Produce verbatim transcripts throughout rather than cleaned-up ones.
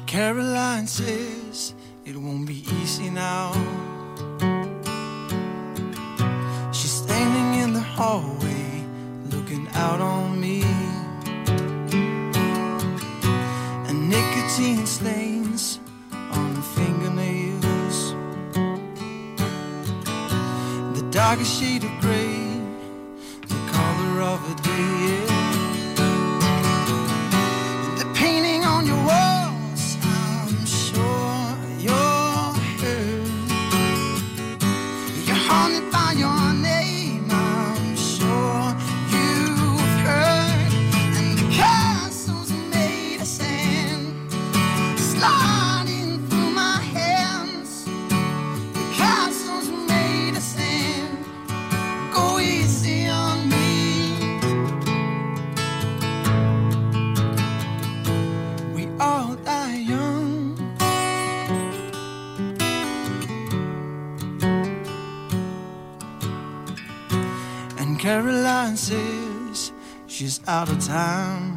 Caroline says it won't be easy now. She's standing in the hallway looking out on me, and nicotine stains on her fingernails, the darkest shade of grey, the color of a day, yeah. The painting on your walls, I'm sure you're hurt. You're haunted by your name, I'm sure you've heard. And the castles made of sand sliding through my hands. The castles made of sand, go easy on me. We all die young, and Caroline says she's out of time.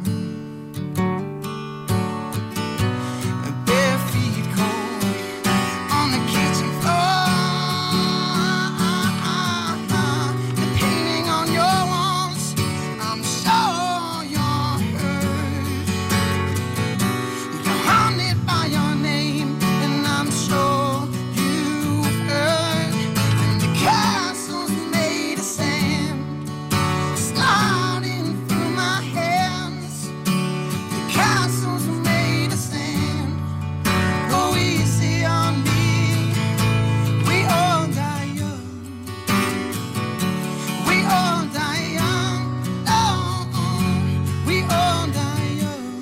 Bare feet cold on the kitchen floor. The painting on your walls, I'm sure you're hurt. You're haunted by your name, and I'm sure you've heard. And the castles made of sand sliding through my hands. The castles made of sand, go easy on me. We all die young, we all die young, oh, we all die young,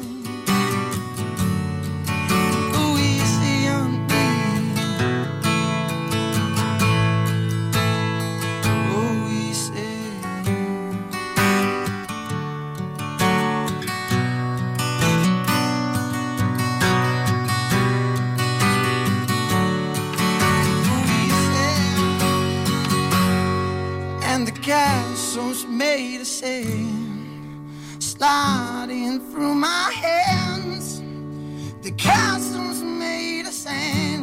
go easy on me, go easy. And the castles made of sand sliding through my hands. The castles made of sand,